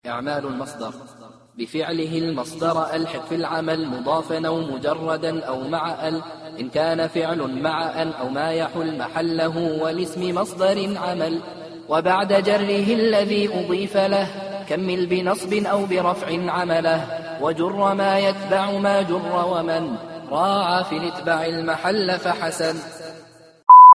إعمال المصدر: بفعله المصدر ألحق في العمل مضافا أو مجردا أو مع إن كان فعل مع أو ما يحل محله والاسم مصدر عمل. وبعد جره الذي أضيف له كمل بنصب أو برفع عمله. وجر ما يتبع ما جر ومن راعى في الاتباع المحل فحسن.